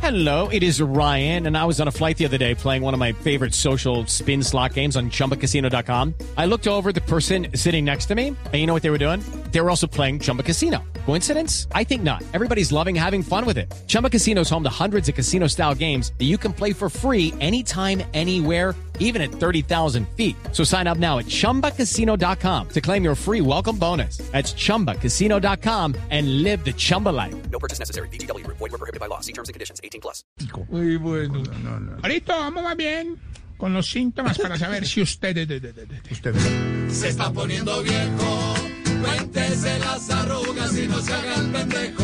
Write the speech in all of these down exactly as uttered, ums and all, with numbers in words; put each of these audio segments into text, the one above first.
Hello, it is Ryan, and I was on a flight the other day playing one of my favorite social spin slot games on Chumba Casino dot com. I looked over at the person sitting next to me, and you know what they were doing? They were also playing Chumba Casino. Coincidence? I think not. Everybody's loving having fun with it. Chumba Casino is home to hundreds of casino-style games that you can play for free anytime, anywhere, even at thirty thousand feet. So sign up now at Chumba Casino dot com to claim your free welcome bonus. That's Chumba Casino dot com and live the Chumba life. No purchase necessary. V G W. Void where prohibited by law. See terms and conditions. eighteen plus. Muy bueno. No, no, no. Ahorita vamos más bien con los síntomas para saber si usted... Usted. Se está poniendo viejo, cuéntese las arrugas y no se haga el pendejo.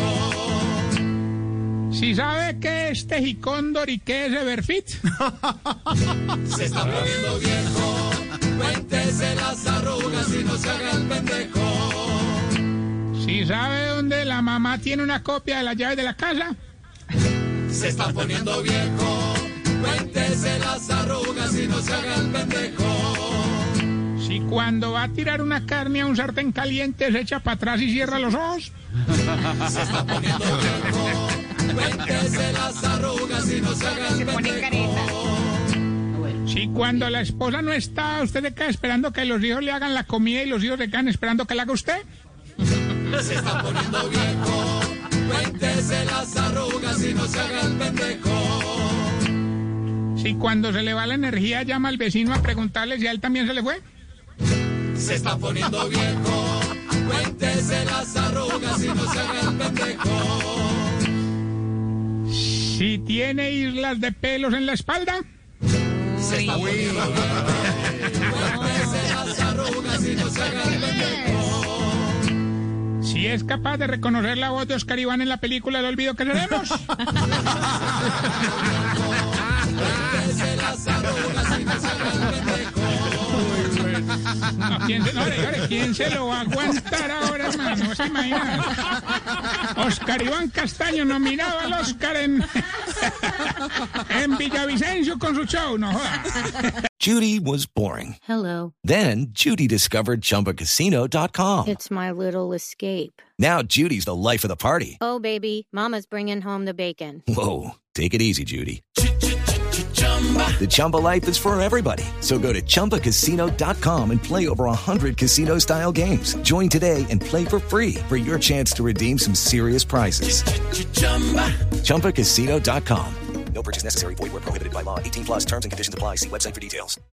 Si sabe qué es tejicóndor y qué es Everfit. Se está poniendo viejo, cuéntese las arrugas y no se haga el pendejo. Si sabe dónde la mamá tiene una copia de las llaves de la casa. Se está poniendo viejo, cuéntese las arrugas y no se haga el pendejo. Si cuando va a tirar una carne a un sartén caliente se echa para atrás y cierra los ojos. Se está poniendo viejo, cuéntese las arrugas y no se haga el pendejo. Si cuando la esposa no está, usted se queda esperando que los hijos le hagan la comida y los hijos se quedan esperando que la haga usted. Se está poniendo viejo, cuéntese las arrugas y no se haga el pendejo. Si cuando se le va la energía llama al vecino a preguntarle si a él también se le fue. Se está poniendo viejo, cuéntese las arrugas y no se haga el pendejo. Si tiene islas de pelos en la espalda. Se está poniendo viejo, cuéntese las arrugas y no se haga el pendejo. Si es capaz de reconocer la voz de Oscar Iván en la película El olvido que seremos. Cuéntese las arrugas y no se haga el pendejo. No, ¿quién se, no, oye, ¿quién se lo va a aguantar ahora, hermano? ¿No se imaginan? Oscar Iván Castaño nominado al Oscar en, en Villavicencio con su show, no joda. Judy was boring. Hello. Then Judy discovered Chumba Casino dot com. It's my little escape. Now Judy's the life of the party. Oh, baby, mama's bringing home the bacon. Whoa, take it easy, Judy. The Chumba life is for everybody. So go to Chumba Casino dot com and play over one hundred casino-style games. Join today and play for free for your chance to redeem some serious prizes. Chumba Casino dot com. No purchase necessary. Void where prohibited by law. eighteen plus terms and conditions apply. See website for details.